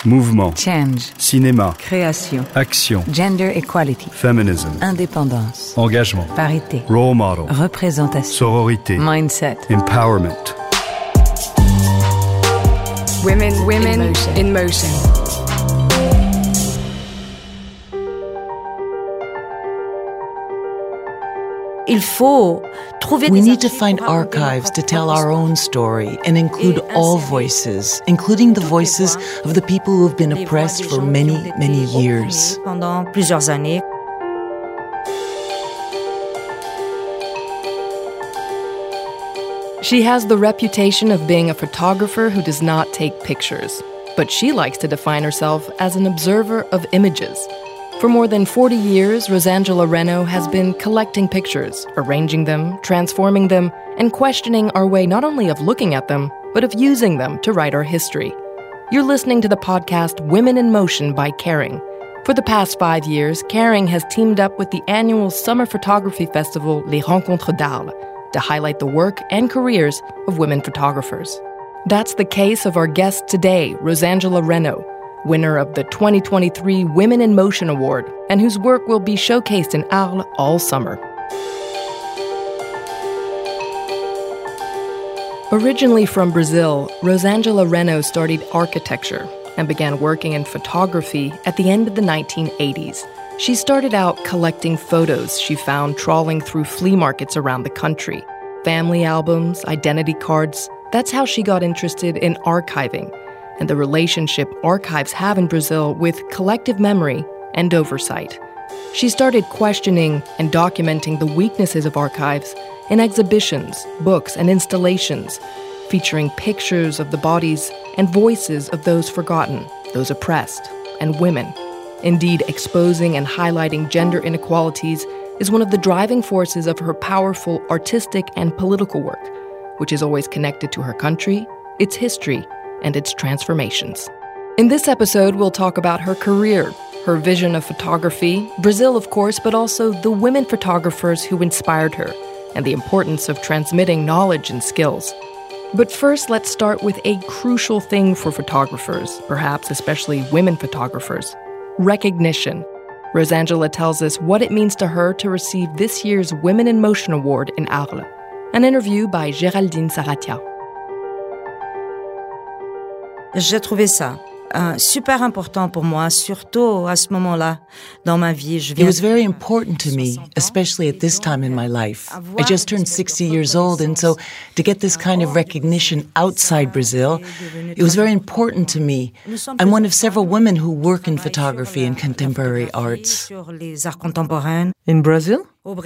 Mouvement. Change. Cinéma. Création. Action. Gender equality. Feminism. Indépendance. Engagement. Parité. Role model. Représentation. Sororité. Mindset. Empowerment. Women in motion. We need to find archives to tell our own story and include all voices, including the voices of the people who have been oppressed for many, many years. She has the reputation of being a photographer who does not take pictures, but she likes to define herself as an observer of images. For more than 40 years, Rosangela Reno has been collecting pictures, arranging them, transforming them, and questioning our way not only of looking at them, but of using them to write our history. You're listening to the podcast Women in Motion by Kering. For the past 5 years, Kering has teamed up with the annual summer photography festival Les Rencontres d'Arles to highlight the work and careers of women photographers. That's the case of our guest today, Rosangela Reno, winner of the 2023 Women in Motion Award, and whose work will be showcased in Arles all summer. Originally from Brazil, Rosangela Reno studied architecture and began working in photography at the end of the 1980s. She started out collecting photos she found trawling through flea markets around the country. Family albums, identity cards. That's how she got interested in archiving and the relationship archives have in Brazil with collective memory and oversight. She started questioning and documenting the weaknesses of archives in exhibitions, books, and installations, featuring pictures of the bodies and voices of those forgotten, those oppressed, and women. Indeed, exposing and highlighting gender inequalities is one of the driving forces of her powerful artistic and political work, which is always connected to her country, its history, and its transformations. In this episode, we'll talk about her career, her vision of photography, Brazil, of course, but also the women photographers who inspired her, and the importance of transmitting knowledge and skills. But first, let's start with a crucial thing for photographers, perhaps especially women photographers: recognition. Rosangela tells us what it means to her to receive this year's Women in Motion Award in Arles. An interview by Géraldine Saratia. J'ai trouvé ça super important pour moi, surtout à ce moment-là dans ma vie. It was very important to me, especially at this time in my life. I just turned 60 years old, and so to get this kind of recognition outside Brazil, it was very important to me. I'm one of several women who work in photography and contemporary arts. In Brazil?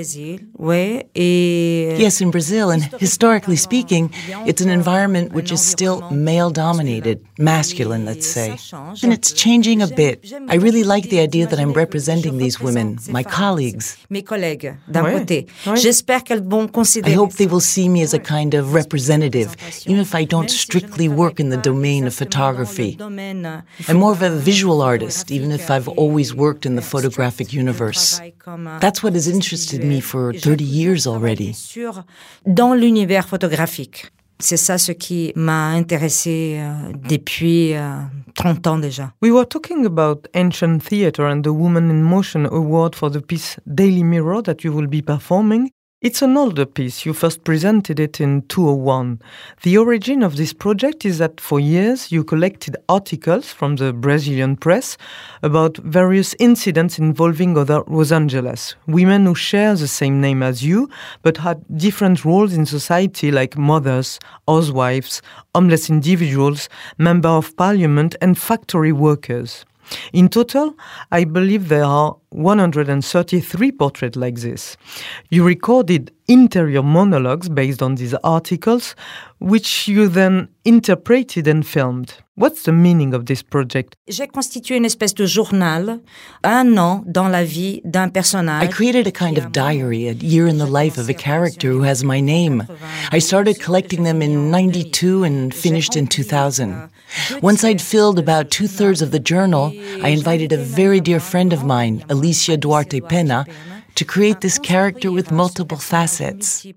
Yes, in Brazil, and historically speaking, it's an environment which is still male-dominated, masculine, let's say. And it's changing a bit. I really like the idea that I'm representing these women, my colleagues. I hope they will see me as a kind of representative, even if I don't strictly work in the domain of photography. I'm more of a visual artist, even if I've always worked in the photographic universe. That's what has interested me for 30 years already. Dans l'univers photographique. C'est ça ce qui m'a intéressée depuis 30 ans déjà. We were talking about ancient theatre and the Women in Motion Award for the piece Daily Mirror that you will be performing. It's an older piece. You first presented it in 2001. The origin of this project is that for years you collected articles from the Brazilian press about various incidents involving other Rosangelas, women who share the same name as you but had different roles in society, like mothers, housewives, homeless individuals, member of parliament and factory workers. In total, I believe there are 133 portraits like this. You recorded interior monologues based on these articles, which you then interpreted and filmed. What's the meaning of this project? J'ai constitué une espèce de journal, un an dans la vie d'un personnage. I created a kind of diary, a year in the life of a character who has my name. I started collecting them in 92 and finished in 2000. Once I'd filled about 2/3 of the journal, I invited a very dear friend of mine, Alicia Duarte Pena, to create this character with multiple facets.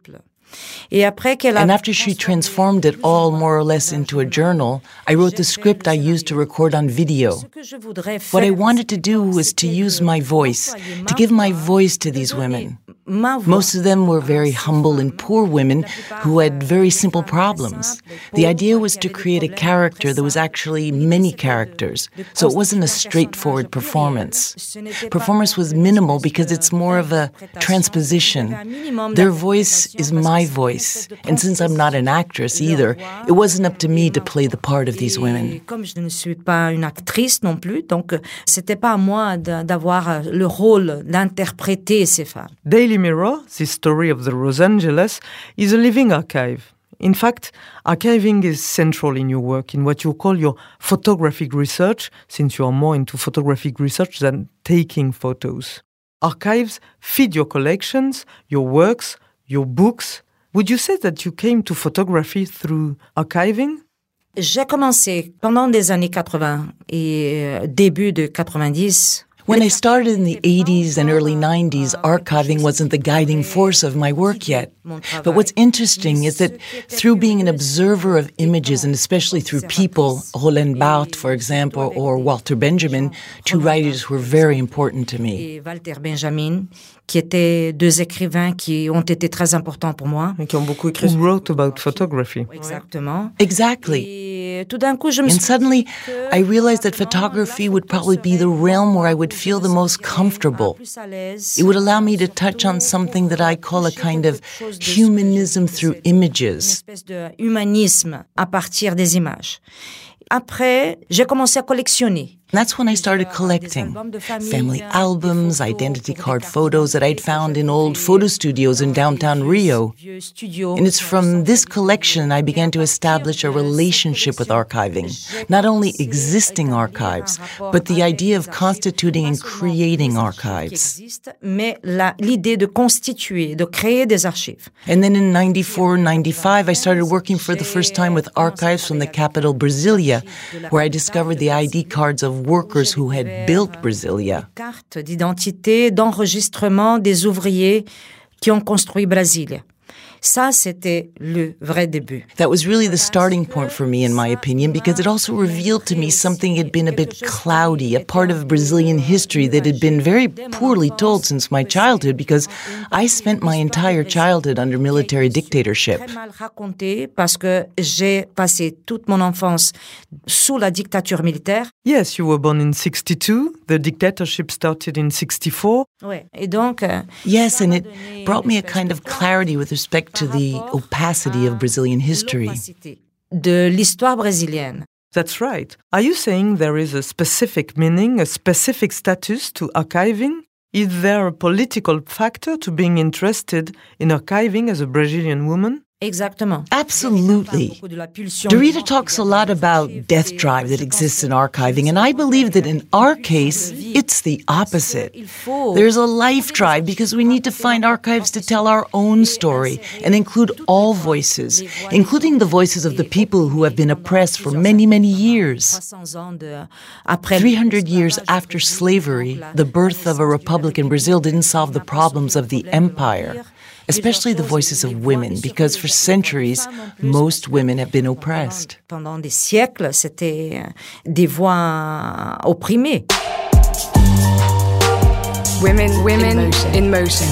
And after she transformed it all more or less into a journal, I wrote the script I used to record on video. What I wanted to do was to use my voice, to give my voice to these women. Most of them were very humble and poor women who had very simple problems. The idea was to create a character that was actually many characters, so it wasn't a straightforward performance. Performance was minimal because it's more of a transposition. Their voice is my voice, and since I'm not an actress either, it wasn't up to me to play the part of these women. Comme je ne suis pas une actrice non plus, donc c'était pas à moi d'avoir le rôle d'interpréter ces femmes. Daily Mirror, this story of the Los Angeles, is a living archive. In fact, archiving is central in your work, in what you call your photographic research, since you are more into photographic research than taking photos. Archives feed your collections, your works, your books. Would you say that you came to photography through archiving? J'ai commencé pendant les années 80 et début de 90. When I started in the 80s and early 90s, archiving wasn't the guiding force of my work yet. But what's interesting is that through being an observer of images, and especially through people, Roland Barthes, for example, or Walter Benjamin, two writers who were very important to me. Et Walter Benjamin, qui étaient deux écrivains qui ont été très importants pour moi. Et qui ont beaucoup écrit. Who wrote about photography. Exactement. Exactly. Et tout d'un coup, je me suis And suddenly, I realized that photography would probably be the realm where I would feel the most comfortable. It would allow me to touch on something that I call a kind of humanism through images. Une espèce de humanisme à partir des images. Après, j'ai commencé à collectionner. That's when I started collecting family albums, identity card photos that I'd found in old photo studios in downtown Rio. And it's from this collection I began to establish a relationship with archiving, not only existing archives, but the idea of constituting and creating archives. Mais l'idée de constituer, de créer des archives. And then in 94, 95, I started working for the first time with archives from the capital, Brasilia, where I discovered the ID cards of workers who had built Brasilia. Carte d'identité, d'enregistrement des ouvriers qui ont construit Brasilia. Ça, c'était le vrai début. That was really the starting point for me, in my opinion, because it also revealed to me something had been a bit cloudy, a part of Brazilian history that had been very poorly told since my childhood, because I spent my entire childhood under military dictatorship. Très mal raconté parce que j'ai passé toute mon enfance sous la dictature militaire. Yes, you were born in 62. The dictatorship started in 64. Ouais. Et donc, yes, and it brought me a kind of clarity with respect to the opacity of Brazilian history. De l'histoire brésilienne. That's right. Are you saying there is a specific meaning, a specific status to archiving? Is there a political factor to being interested in archiving as a Brazilian woman? Exactement. Absolutely. Derrida talks a lot about death drive that exists in archiving, and I believe that in our case, it's the opposite. There's a life drive because we need to find archives to tell our own story and include all voices, including the voices of the people who have been oppressed for many, many years. 300 years after slavery, the birth of a republic in Brazil didn't solve the problems of the empire, especially the voices of women, because for centuries, most women have been oppressed. Pendant des siècles, c'était des voix opprimées. Women in motion.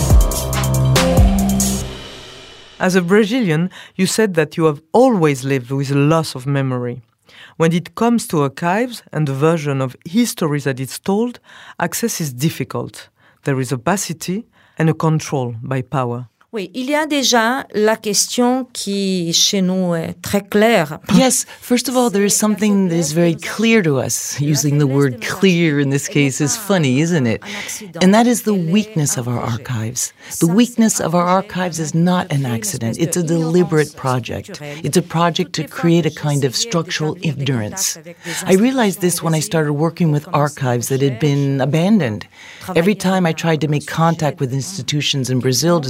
As a Brazilian, you said that you have always lived with a loss of memory. When it comes to archives and the version of history that is told, access is difficult. There is opacity and a control by power. Oui, il y a déjà la question qui, chez nous, est très claire. Yes, first of all, there is something that is very clear to us. Using the word clear in this case is funny, isn't it? And that is the weakness of our archives. The weakness of our archives is not an accident. It's a deliberate project. It's a project to create a kind of structural ignorance. I realized this when I started working with archives that had been abandoned. Every time I tried to make contact with institutions in Brazil to start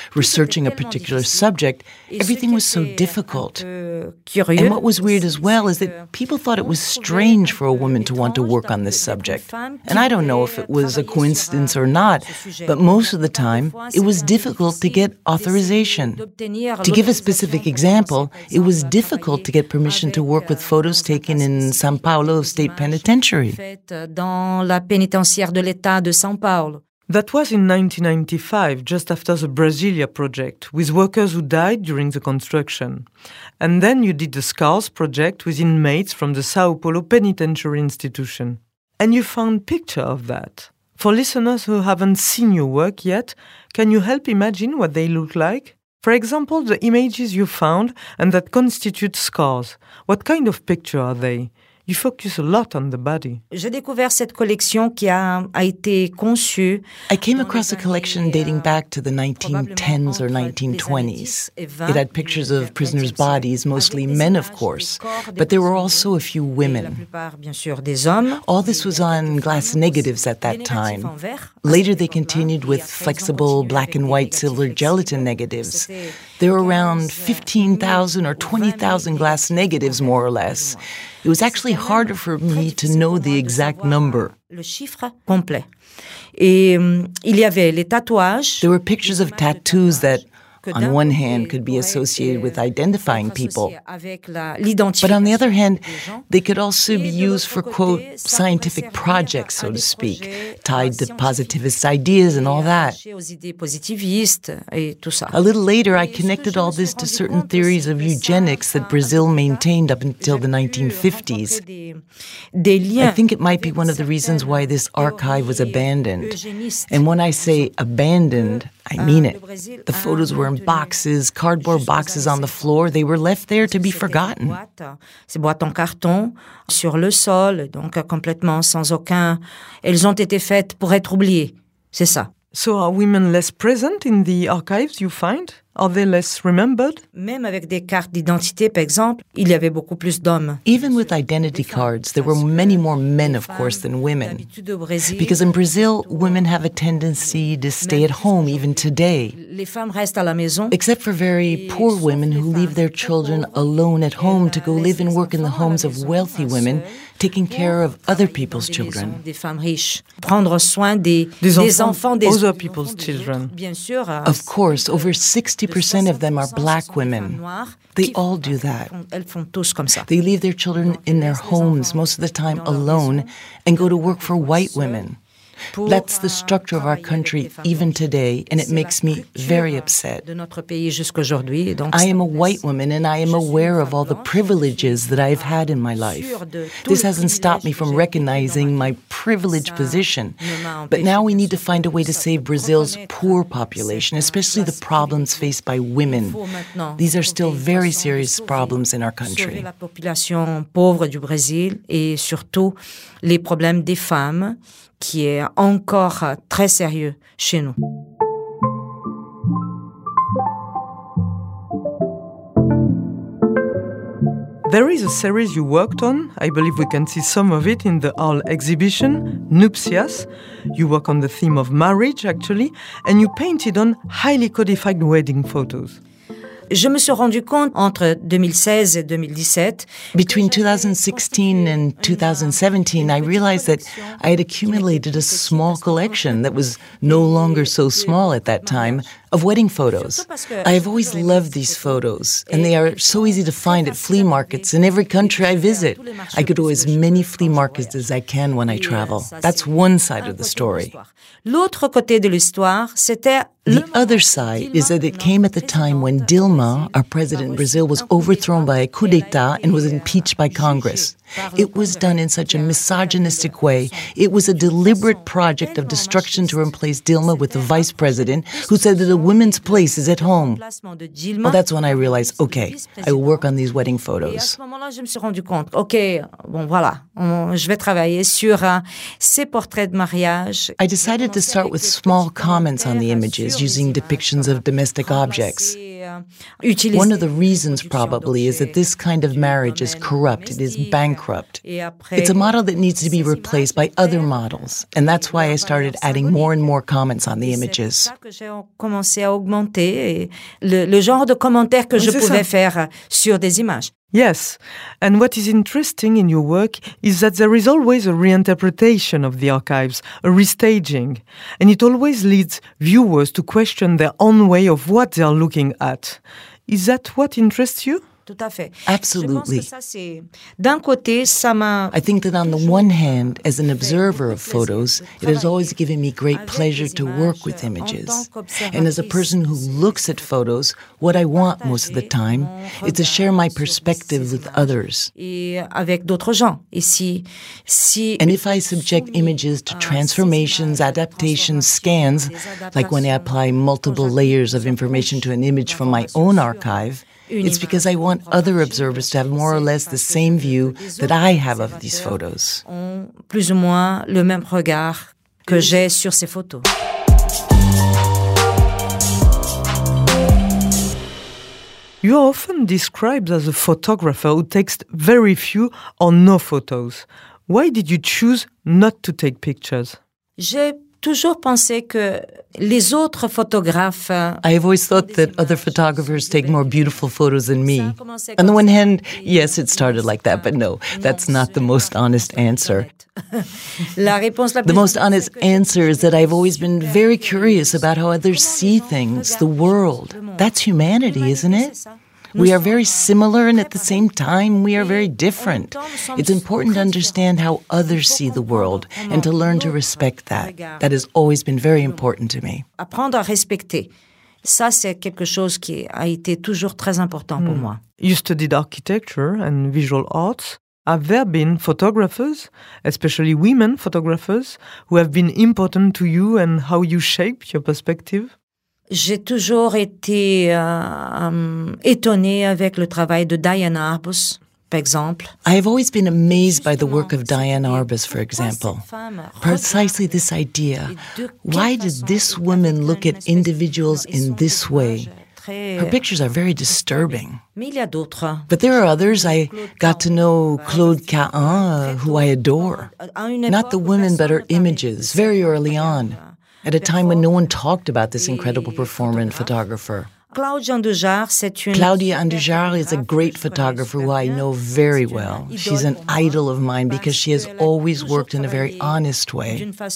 researching a particular subject, everything was so difficult. And what was weird as well is that people thought it was strange for a woman to want to work on this subject. And I don't know if it was a coincidence or not, but most of the time, it was difficult to get authorization. To give a specific example, it was difficult to get permission to work with photos taken in São Paulo State Penitentiary. Dans la pénitentiaire de l'État de São Paulo. That was in 1995, just after the Brasilia project, with workers who died during the construction. And then you did the SCARS project with inmates from the São Paulo Penitentiary Institution. And you found pictures of that. For listeners who haven't seen your work yet, can you help imagine what they look like? For example, the images you found and that constitute SCARS. What kind of picture are they? You focus a lot on the body. J'ai découvert cette collection qui a été conçue. I came across a collection dating back to the 1910s or 1920s. It had pictures of prisoners' bodies, mostly men, of course, but there were also a few women. All this was on glass negatives at that time. Later they continued with flexible black and white silver gelatin negatives. There were around 15,000 or 20,000 glass negatives, more or less. It was actually harder for me to know the exact number. Le chiffre complet. Et il y avait les tatouages. There were pictures of tattoos that, on one hand, could be associated with identifying people. But on the other hand, they could also be used for, quote, scientific projects, so to speak, tied to positivist ideas and all that. A little later, I connected all this to certain theories of eugenics that Brazil maintained up until the 1950s. I think it might be one of the reasons why this archive was abandoned. And when I say abandoned, I mean it. The photos were in boxes, cardboard boxes on the floor. They were left there to be forgotten. Ces boîtes en carton sur le sol, donc complètement sans aucun. Elles ont été faites pour être oubliées. C'est ça. So are women less present in the archives you find? Are they less remembered? Même avec des cartes d'identité, par exemple, il y avait beaucoup plus d'hommes. Even with identity cards, there were many more men, of course, than women. Because in Brazil, women have a tendency to stay at home even today. Les femmes restent à la maison. Except for very poor women who leave their children alone at home to go live and work in the homes of wealthy women, taking care of other people's children. Des femmes riches. Prendre soin des enfants des other people's children. Bien sûr. Of course, over 60% of them are black women. They all do that. Elles font tous comme ça. They leave their children in their homes, most of the time alone, and go to work for white women. That's the structure of our country even today, and it makes me very upset. I am a white woman, and I am aware of all the privileges that I've had in my life. This hasn't stopped me from recognizing my privileged position. But now we need to find a way to save Brazil's poor population, especially the problems faced by women. These are still very serious problems in our country. La population pauvre du Brésil et surtout les problèmes des femmes, qui est encore très sérieux chez nous. There is a series you worked on. I believe we can see some of it in the Arles exhibition, Nupcias. You work on the theme of marriage, actually, and you painted on highly codified wedding photos. Je me suis rendu compte entre 2016 et 2017. Between 2016 and 2017, I realized that I had accumulated a small collection that was no longer so small at that time of wedding photos. I have always loved these photos, and they are so easy to find at flea markets in every country I visit. I go to as many flea markets as I can when I travel. That's one side of the story. L'autre côté de l'histoire, c'était the other side is that it came at the time when Dilma, our president in Brazil, was overthrown by a coup d'etat and was impeached by Congress. It was done in such a misogynistic way. It was a deliberate project of destruction to replace Dilma with the vice president who said that a woman's place is at home. Well, that's when I realized, okay, I will work on these wedding photos. Et à ce moment-là, je me suis rendu compte, okay, bon voilà, je vais travailler sur ces portraits de mariage. I decided to start with small comments on the images using depictions of domestic objects. One of the reasons probably is that this kind of marriage is corrupt, it is bankrupt. It's a model that needs to be replaced by other models, and that's why I started adding more and more comments on the images. Commencé à augmenter le genre de commentaires que je pouvais faire sur des images. Yes, and what is interesting in your work is that there is always a reinterpretation of the archives, a restaging, and it always leads viewers to question their own way of what they are looking at. Is that what interests you? Tout à fait. Absolutely. D'un côté, ça m'a... I think that on the one hand, as an observer of photos, it has always given me great pleasure to work with images. And as a person who looks at photos, what I want most of the time is to share my perspective with others. Et avec d'autres gens. And if I subject images to transformations, adaptations, scans, like when I apply multiple layers of information to an image from my own archive, it's because I want other observers to have more or less the same view that I have of these photos. Plus ou moins le même regard que j'ai sur ces photos. You are often described as a photographer who takes very few or no photos. Why did you choose not to take pictures? J'ai toujours pensé que les autres photographes... I have always thought that other photographers take more beautiful photos than me. On the one hand, yes, it started like that, but no, that's not the most honest answer. The most honest answer is that I've always been very curious about how others see things, the world. That's humanity, isn't it? We are very similar, and at the same time, we are very different. It's important to understand how others see the world and to learn to respect that. That has always been very important to me. Apprendre à respecter. Ça, c'est quelque chose qui a été toujours très important pour moi. You studied architecture and visual arts. Have there been photographers, especially women photographers, who have been important to you and how you shape your perspective? J'ai toujours été étonnée avec le travail de Diane Arbus, par exemple. I have always been amazed by the work of Diane Arbus, for example. Precisely this idea. Why did this woman look at individuals in this way? Her pictures are very disturbing. Mais il y a d'autres. But there are others. I got to know Claude Cahun, who I adore. Not the women, but her images, very early on, at a time when no one talked about this incredible performer and photographer. Claudia Andujar is a great photographer who I know very well. She's an idol of mine because she has always worked in a very honest way.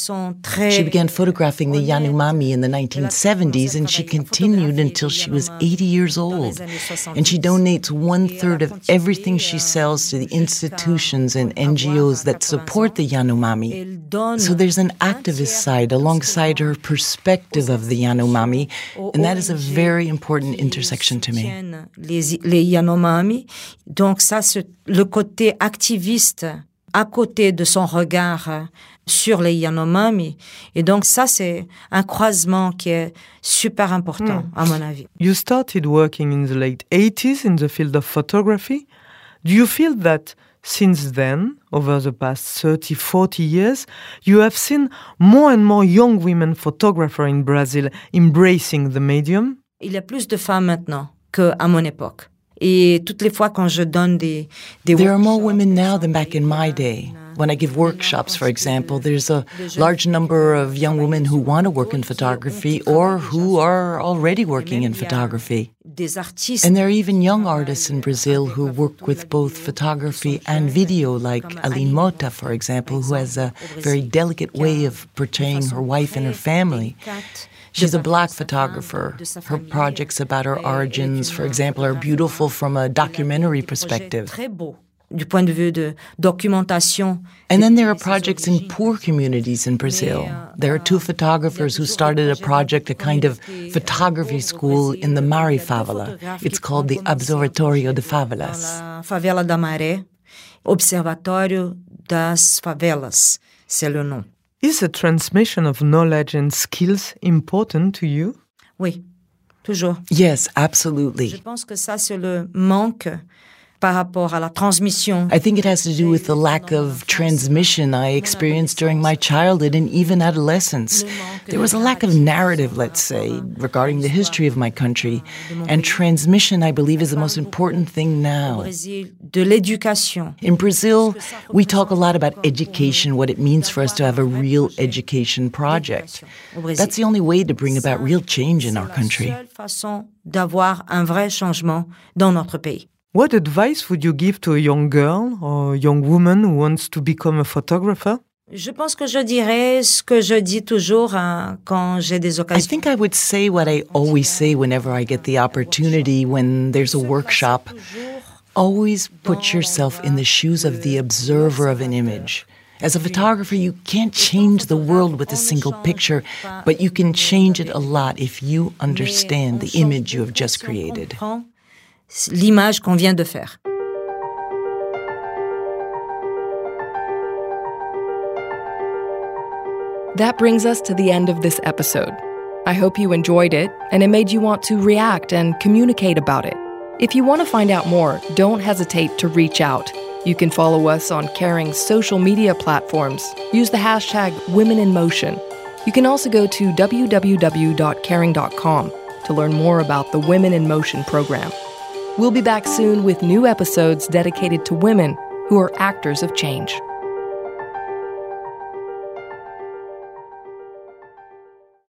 She began photographing the Yanomami in the 1970s, and she continued until she was 80 years old. And she donates 1/3 of everything she sells to the institutions and NGOs that support the Yanomami. So there's an activist side alongside her perspective of the Yanomami, and that is a very important intersection to me. Les Yanomami. Donc ça, c'est le côté activiste à côté de son regard sur les Yanomami. Et donc ça, c'est un croisement qui est super important, à mon avis. You started working in the late 80s in the field of photography. Do you feel that since then, over the past 30, 40 years, you have seen more and more young women photographers in Brazil embracing the medium? Il y a plus de femmes maintenant qu'à mon époque. Et toutes les fois quand je donne des There are more women now than back in my day. When I give workshops, for example, there's a large number of young women who want to work in photography or who are already working in photography. And there are even young artists in Brazil who work with both photography and video, like Aline Mota, for example, who has a very delicate way of portraying her wife and her family. She's a black photographer. Her projects about her origins, for example, are beautiful from a documentary perspective. Du point de vue de documentation. And then there are projects in poor communities in Brazil. There are two photographers who started a project, a kind of photography school in the Mari favela. It's called the Observatorio de Favelas. Favela da Maré, Observatório das Favelas, c'est le nom. Is the transmission of knowledge and skills important to you? Oui, toujours. Yes, absolutely. Je pense que ça, c'est le manque. par rapport à la transmission. I think it has to do with the lack of transmission I experienced during my childhood and even adolescence. There was a lack of narrative, let's say, regarding the history of my country. And transmission, I believe, is the most important thing now. De l'éducation. In Brazil, we talk a lot about education, what it means for us to have a real education project. That's the only way to bring about real change in our country. C'est la seule façon d'avoir un vrai changement dans notre pays. What advice would you give to a young girl or a young woman who wants to become a photographer? Je pense que je dirais ce que je dis toujours quand j'ai des I occasions. think I would say what I always say whenever I get the opportunity when there's a workshop. Always put yourself in the shoes of the observer of an image. As a photographer, you can't change the world with a single picture, but you can change it a lot if you understand the image you have just created. L'image qu'on vient de faire. That brings us to the end of this episode. I hope you enjoyed it and it made you want to react and communicate about it. If you want to find out more, don't hesitate to reach out. You can follow us on Caring's social media platforms. Use the hashtag #WomenInMotion. You can also go to www.caring.com to learn more about the Women in Motion program. We'll be back soon with new episodes dedicated to women who are actors of change.